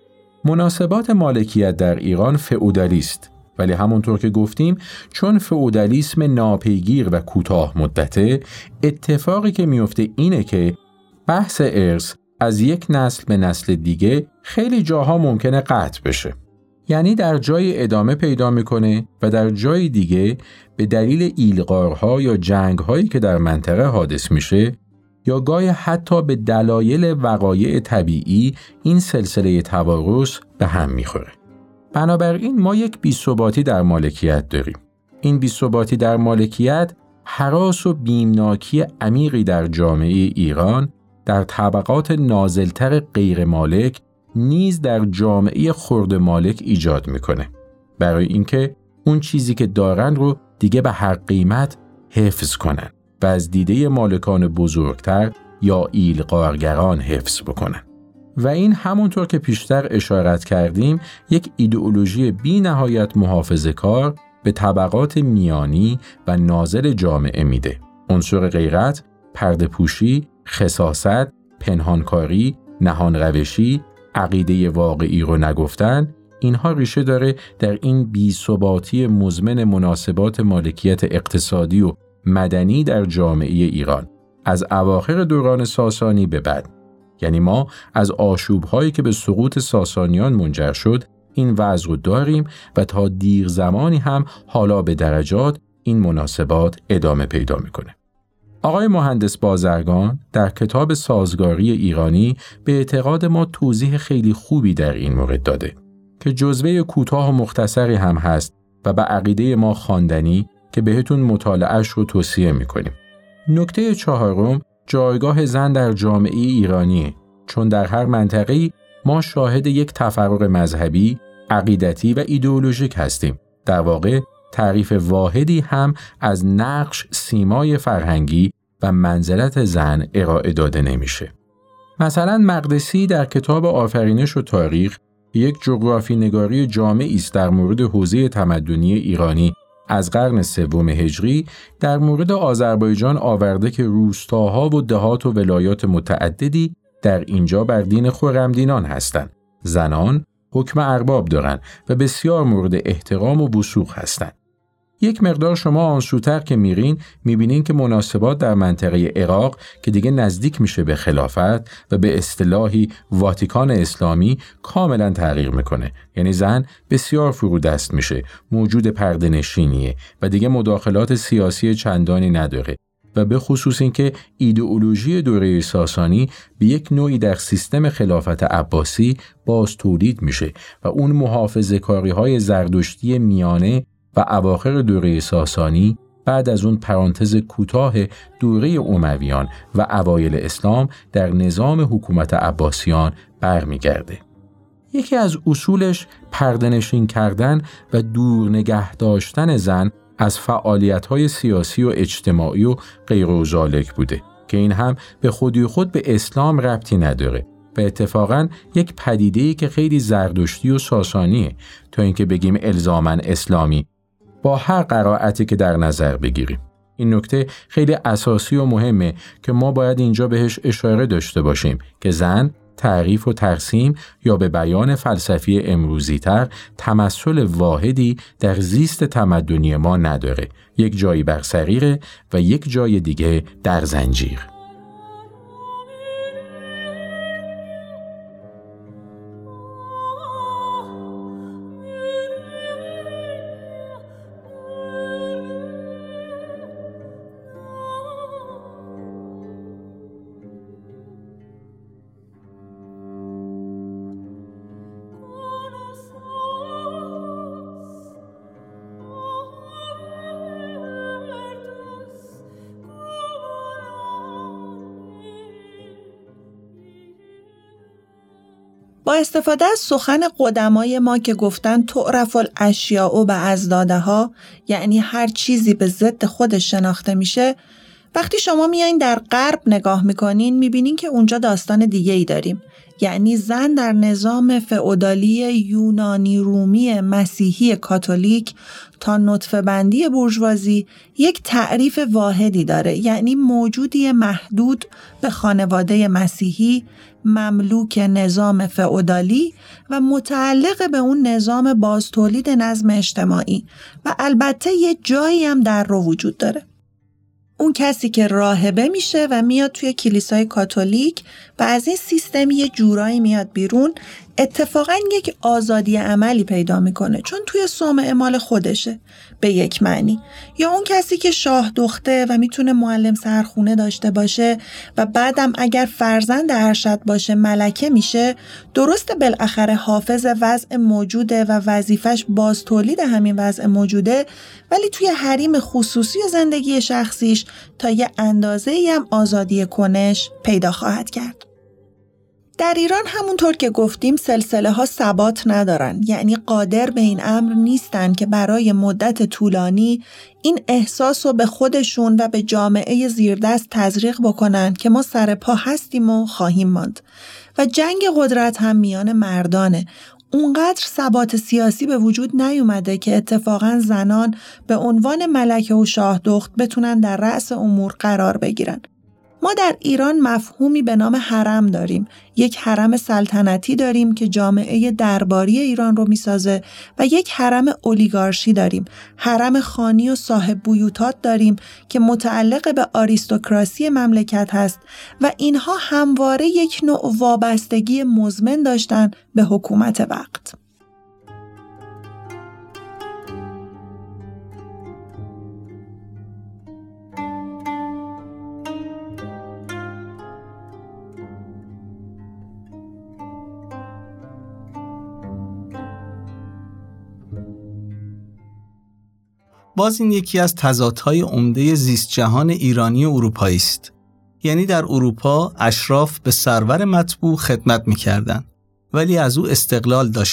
مناسبات مالکیت در ایران فئودالیست، ولی همونطور که گفتیم چون فئودالیسم ناپیگیر و کوتاه مدته، اتفاقی که میفته اینه که بحث ارث از یک نسل به نسل دیگه خیلی جاها ممکنه قطع بشه. یعنی در جای ادامه پیدا میکنه و در جای دیگه به دلیل ایلغارها یا جنگهایی که در منطقه حادث میشه یا گاهی حتی به دلایل وقایع طبیعی این سلسله توارث به هم میخوره. بنابراین ما یک بی‌ثباتی در مالکیت داریم. این بی‌ثباتی در مالکیت هراس و بیمناکی عمیقی در جامعه ایران در طبقات نازلتر غیر مالک نیز در جامعه خرد مالک ایجاد میکنه، برای اینکه اون چیزی که دارن رو دیگه به هر قیمت حفظ کنن و از دیده مالکان بزرگتر یا ایلغارگران حفظ بکنن. و این همونطور که پیشتر اشارت کردیم یک ایدئولوژی بی نهایت محافظه‌کار به طبقات میانی و نازل جامعه میده. عنصر غیرت، پرده پوشی، خساست، پنهانکاری، نهان روشی، عقیده واقعی رو نگفتن، اینها ریشه داره در این بی‌ثباتی مزمن مناسبات مالکیت اقتصادی و مدنی در جامعه ایران از اواخر دوران ساسانی به بعد. یعنی ما از آشوب‌هایی که به سقوط ساسانیان منجر شد این وضع رو داریم و تا دیر زمانی هم حالا به درجات این مناسبات ادامه پیدا میکنه. آقای مهندس بازرگان در کتاب سازگاری ایرانی به اعتقاد ما توضیح خیلی خوبی در این مورد داده که جزوه کوتاه و مختصری هم هست و به عقیده ما خواندنی که بهتون مطالعه‌اش رو توصیه میکنیم. نکته چهارم جایگاه زن در جامعه ایرانیه، چون در هر منطقه‌ای ما شاهد یک تفرق مذهبی، عقیدتی و ایدئولوژیک هستیم. در واقع تعریف واحدی هم از نقش، سیمای فرهنگی و منزلت زن ارائه داده نمیشه. مثلا مقدسی در کتاب آفرینش و تاریخ یک جغرافی نگاری جامعی است در مورد حوزه تمدنی ایرانی از قرن سوم هجری در مورد آذربایجان آورده که روستاها و دهات و ولایات متعددی در اینجا بر دین خرمدینان هستند. زنان حکم ارباب دارند و بسیار مورد احترام و وثوق هستند. یک مقدار شما آنسوتر که میبینین که مناسبات در منطقه عراق که دیگه نزدیک میشه به خلافت و به اصطلاحی واتیکان اسلامی کاملا تغییر میکنه. یعنی زن بسیار فرودست میشه، موجود پرده نشینیه و دیگه مداخلات سیاسی چندانی نداره و به خصوص این که ایدئولوژی دوره ساسانی به یک نوعی در سیستم خلافت عباسی باز تولید میشه و اون محافظه‌کاری‌های زردشتی میانه و اواخر دوره ساسانی بعد از اون پرانتز کوتاه دوره امویان و اوایل اسلام در نظام حکومت عباسیان برمیگرده. یکی از اصولش پرده‌نشین کردن و دور نگه داشتن زن از فعالیت‌های سیاسی و اجتماعی و غیر و ذالک بوده که این هم به خودی خود به اسلام ربطی نداره و اتفاقاً یک پدیده‌ای که خیلی زردشتی و ساسانیه تا اینکه بگیم الزاماً اسلامی با هر قرائتی که در نظر بگیریم. این نکته خیلی اساسی و مهمه که ما باید اینجا بهش اشاره داشته باشیم که زن تعریف و ترسیم یا به بیان فلسفی امروزی تر تمثل واحدی در زیست تمدنی ما نداره. یک جایی بر سریره و یک جای دیگه در زنجیر. با استفاده از سخن قدمای ما که گفتن تعرف الاشیاء باضدادها، یعنی هر چیزی به ضد خودش شناخته میشه، وقتی شما میایین در غرب نگاه میکنین میبینین که اونجا داستان دیگه ای داریم. یعنی زن در نظام فئودالی یونانی رومی مسیحی کاتولیک تا نطفه بندی بورژوازی یک تعریف واحدی داره، یعنی موجودی محدود به خانواده مسیحی، مملوک نظام فئودالی و متعلق به اون نظام بازتولید نظم اجتماعی و البته یه جایی هم در رو وجود داره. اون کسی که راهبه میشه و میاد توی کلیسای کاتولیک و از این سیستم یه جورایی میاد بیرون، اتفاقاً یک آزادی عملی پیدا میکنه چون توی صومعه مال خودشه به یک معنی. یا اون کسی که شاه دخته و میتونه معلم سرخونه داشته باشه و بعدم اگر فرزند ارشد باشه ملکه میشه، درسته بالاخره حافظ وضع موجوده و وظیفش باز تولید همین وضع موجوده، ولی توی حریم خصوصی زندگی شخصیش تا یه اندازه‌ای هم آزادی کنش پیدا خواهد کرد. در ایران همونطور که گفتیم سلسله ها ثبات ندارن، یعنی قادر به این امر نیستن که برای مدت طولانی این احساس رو به خودشون و به جامعه زیردست تزریق بکنن که ما سر پا هستیم و خواهیم ماند. و جنگ قدرت هم میان مردانه. اونقدر ثبات سیاسی به وجود نیومده که اتفاقاً زنان به عنوان ملکه و شاه دخت بتونن در رأس امور قرار بگیرن. ما در ایران مفهومی به نام حرم داریم. یک حرم سلطنتی داریم که جامعه درباری ایران رو میسازه و یک حرم اولیگارشی داریم. حرم خانی و صاحب بیوتات داریم که متعلق به آریستوکراسی مملکت هست و اینها همواره یک نوع وابستگی مزمن داشتن به حکومت وقت. باز این یکی از تضادهای عمده زیست جهان ایرانی و اروپایی است. یعنی در اروپا اشراف به سرور مطبوع خدمت می‌کردند ولی از او استقلال داشتند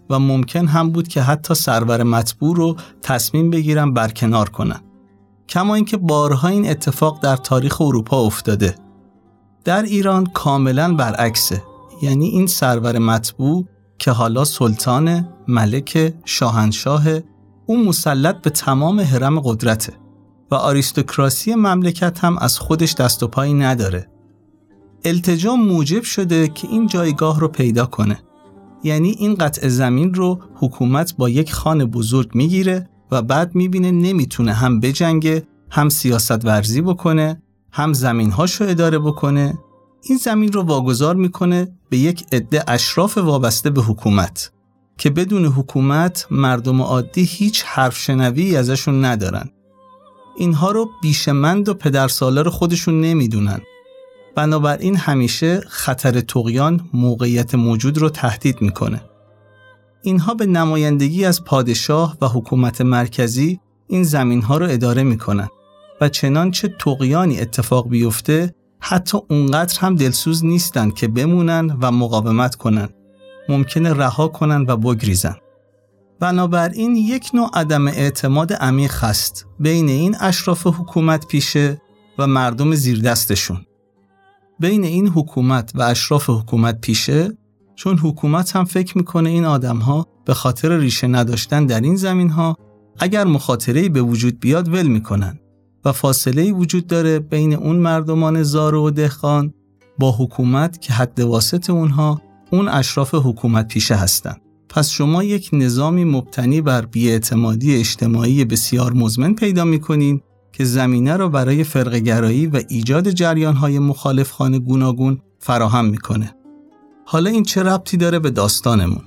و ممکن هم بود که حتی سرور مطبوع رو تصمیم بگیرن برکنار کنن. کما اینکه بارها این اتفاق در تاریخ اروپا افتاده. در ایران کاملا برعکسه. یعنی این سرور مطبوع که حالا سلطان، ملک، شاهنشاه، اون مسلط به تمام هرم قدرته و آریستوکراسی مملکت هم از خودش دست و پایی نداره. التجا موجب شده که این جایگاه رو پیدا کنه. یعنی این قطع زمین رو حکومت با یک خان بزرگ میگیره و بعد میبینه نمیتونه هم بجنگه، هم سیاست ورزی بکنه، هم زمینهاشو اداره بکنه. این زمین رو واگذار میکنه به یک عده اشراف وابسته به حکومت که بدون حکومت مردم عادی هیچ حرف شنوی ازشون ندارن. اینها رو بیشمند و پدرسالار خودشون نمیدونن. بنابراین همیشه خطر طغیان موقعیت موجود رو تهدید میکنه. اینها به نمایندگی از پادشاه و حکومت مرکزی این زمینها رو اداره میکنن و چنانچه طغیانی اتفاق بیفته حتی اونقدر هم دلسوز نیستن که بمونن و مقاومت کنن. ممکنه رها کنن و بگریزن. بنابراین یک نوع عدم اعتماد عمیق هست بین این اشراف حکومت پیشه و مردم زیر دستشون. بین این حکومت و اشراف حکومت پیشه، چون حکومت هم فکر میکنه این آدم‌ها به خاطر ریشه نداشتن در این زمین‌ها اگر مخاطره‌ای به وجود بیاد ول میکنن و فاصله‌ای وجود داره بین اون مردمان زار و دهقان با حکومت که حد واسط اونها اون اشراف حکومت پیشه هستن. پس شما یک نظامی مبتنی بر بی‌اعتمادی اجتماعی بسیار مزمن پیدا می‌کنین که زمینه رو برای فرقه‌گرایی و ایجاد جریان‌های مخالفخوان گوناگون فراهم می‌کنه. حالا این چه ربطی داره به داستانمون؟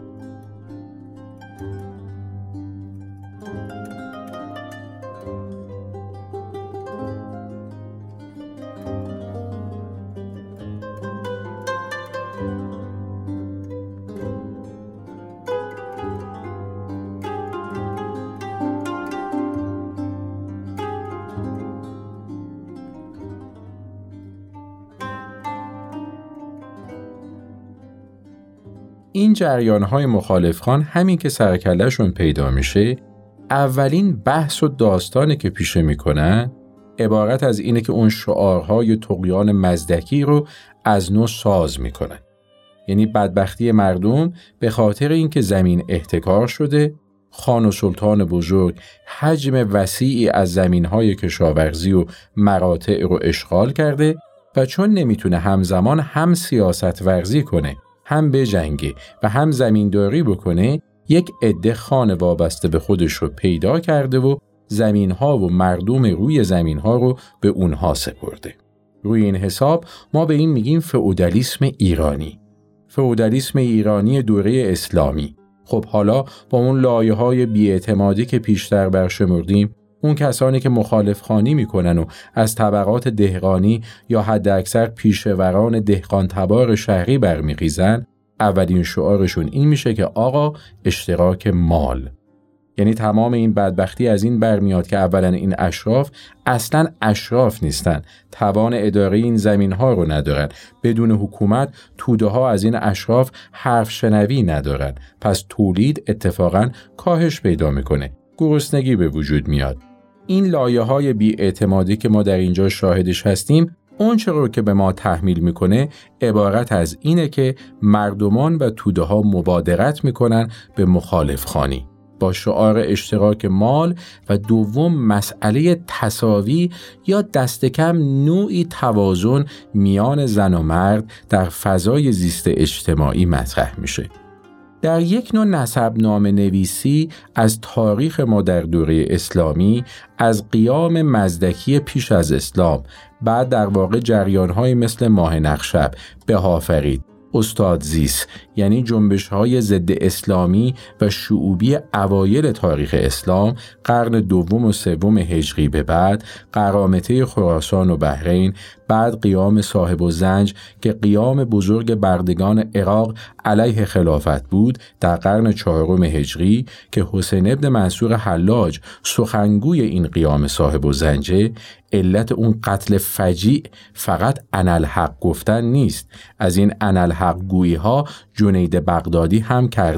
این جریان‌های مخالفخوان همین که سرکله‌شون پیدا میشه، اولین بحث و داستانی که پیشه میکنن عبارت از اینه که اون شعارهای طغیان مزدکی رو از نو ساز میکنن. یعنی بدبختی مردم به خاطر اینکه زمین احتکار شده، خان و سلطان بزرگ حجم وسیعی از زمین‌های کشاورزی و مراتع رو اشغال کرده و چون نمیتونه همزمان هم سیاست ورزی کنه، هم بجنگه و هم زمینداری بکنه، یک عده خان وابسته به خودش رو پیدا کرده و زمین‌ها و مردم روی زمین‌ها رو به اونها سپرده. روی این حساب ما به این میگیم فئودالیسم ایرانی. فئودالیسم ایرانی دوره اسلامی. خب حالا با اون لایه‌های بی‌اعتمادی که پیشتر برشمردیم، اون کسانی که مخالف خانی میکنن و از طبقات دهقانی یا حداکثر پیشوران دهقان تبار شهری برمیخیزن، اولین شعارشون این میشه که آقا اشتراک مال. یعنی تمام این بدبختی از این برمیاد که اولا این اشراف اصلا اشراف نیستن، توان اداره این زمین ها رو ندارن، بدون حکومت توده ها از این اشراف حرف شنوی ندارن، پس تولید اتفاقا کاهش پیدا میکنه، گرسنگی به وجود میاد. این لایه های بی‌اعتمادی که ما در اینجا شاهدش هستیم، اون چه رو که به ما تحمیل میکنه عبارت از اینه که مردمان و توده ها مبادرت میکنن به مخالف خانی با شعار اشتراک مال و دوم مسئله تساوی یا دست کم نوعی توازن میان زن و مرد در فضای زیست اجتماعی مطرح میشه. در یک نوع نسبنامه نویسی از تاریخ ما در دوره اسلامی، از قیام مزدکی پیش از اسلام، بعد در واقع جریان‌های مثل ماه نخشب، بهافرید، استاد زیس، یعنی جنبش‌های ضد اسلامی و شعوبی اوایل تاریخ اسلام، قرن دوم و سوم هجری به بعد، قرامطه خراسان و بحرین، بعد قیام صاحب الزنج که قیام بزرگ بردگان عراق علیه خلافت بود در قرن چهارم هجری که حسین ابن منصور حلاج سخنگوی این قیام صاحب الزنجه. علت اون قتل فجیع فقط انالحق گفتن نیست، از این انالحق گویی ها جنید بغدادی هم کرده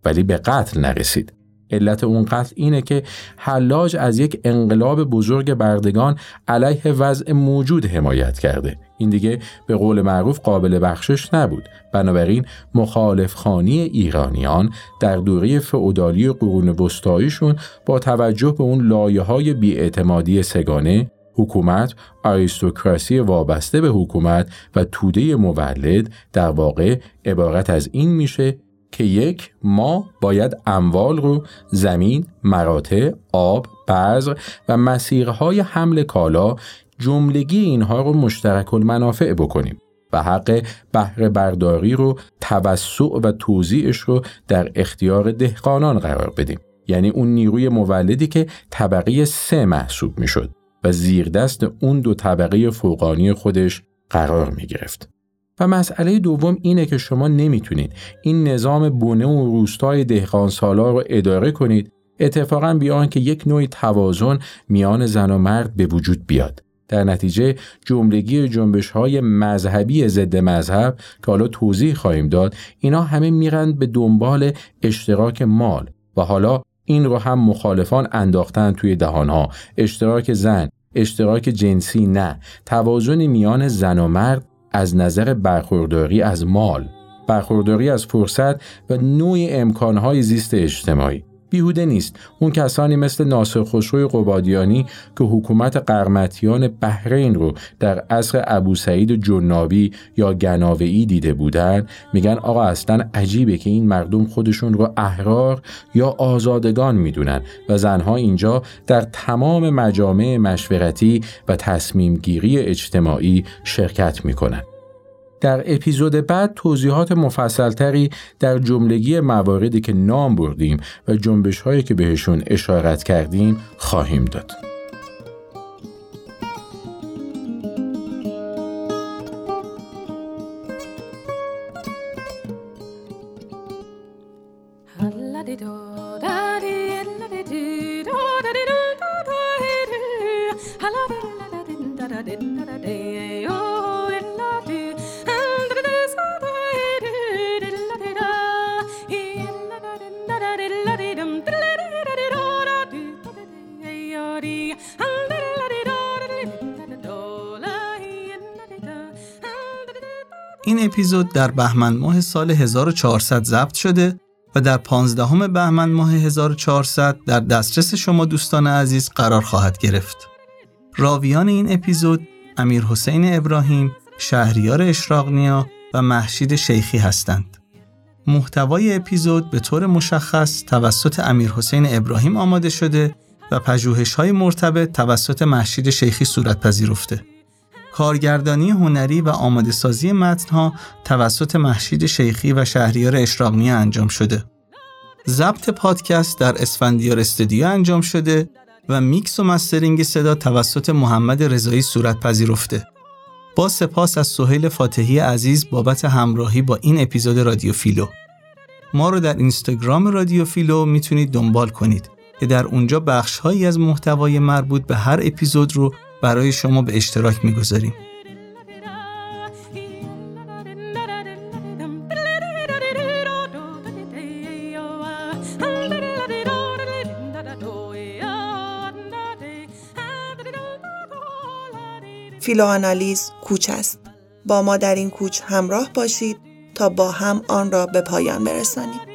ولی به قتل نرسید. علت اون قتل اینه که حلاج از یک انقلاب بزرگ بردگان علیه وضع موجود حمایت کرده. این دیگه به قول معروف قابل بخشش نبود. بنابراین مخالفخوانی ایرانیان در دوره فئودالی قرون وسطاییشون با توجه به اون لایه‌های بی‌اعتمادی سگانه، حکومت، آریستوکراسی وابسته به حکومت و توده مولد در واقع عبارت از این میشه که یک، ما باید اموال رو زمین، مراتع، آب، بذر و مسیرهای حمل کالا جملگی اینها رو مشترک المنافع بکنیم و حق بهره برداری رو توسع و توزیعش رو در اختیار دهقانان قرار بدیم. یعنی اون نیروی مولدی که طبقه 3 محسوب میشد و زیر دست اون 2 طبقه فوقانی خودش قرار می گرفت. و مسئله دوم اینه که شما نمیتونید این نظام بونه و روستای دهقان سالار رو اداره کنید اتفاقاً بیان که یک نوع توازن میان زن و مرد به وجود بیاد. در نتیجه جملگی جنبش‌های مذهبی ضد مذهب که حالا توضیح خواهیم داد، اینا همه میرن به دنبال اشتراک مال و حالا این رو هم مخالفان انداختن توی دهانها. اشتراک زن، اشتراک جنسی نه، توازن میان زن و مرد از نظر برخورداری از مال، برخورداری از فرصت و نوع امکانهای زیست اجتماعی. بیهوده نیست اون کسانی مثل ناصر خسرو قبادیانی که حکومت قرمطیان بحرین رو در عصر ابوسعید جنابی یا گناویی دیده بودن، میگن آقا اصلا عجیبه که این مردم خودشون رو احرار یا آزادگان میدونن و زنها اینجا در تمام مجامع مشورتی و تصمیم گیری اجتماعی شرکت میکنن. در اپیزود بعد توضیحات مفصلتری در جملگی مواردی که نام بردیم و جنبش‌هایی که بهشون اشارت کردیم خواهیم داد. این اپیزود در بهمن ماه سال 1400 ضبط شده و در 15 بهمن ماه 1400 در دسترس شما دوستان عزیز قرار خواهد گرفت. راویان این اپیزود امیرحسین ابراهیم، شهریار اشراق‌نیا و مهشید شیخی هستند. محتوای اپیزود به طور مشخص توسط امیرحسین ابراهیم آماده شده و پژوهش‌های مرتبط توسط مهشید شیخی صورت پذیرفته. کارگردانی هنری و آماده سازی متن‌ها توسط مهشید شیخی و شهریار اشراق‌نیا انجام شده. ضبط پادکست در اسفندیار استودیو انجام شده و میکس و مسترینگ صدا توسط محمد رضایی صورت پذیرفته. با سپاس از سهیل فاتحی عزیز بابت همراهی با این اپیزود رادیو فیلو. ما رو در اینستاگرام رادیو فیلو میتونید دنبال کنید که در اونجا بخش‌هایی از محتوای مربوط به هر اپیزود رو برای شما به اشتراک میگذاریم. فیلوآنالیز کوچ است. با ما در این کوچ همراه باشید تا با هم آن را به پایان برسانیم.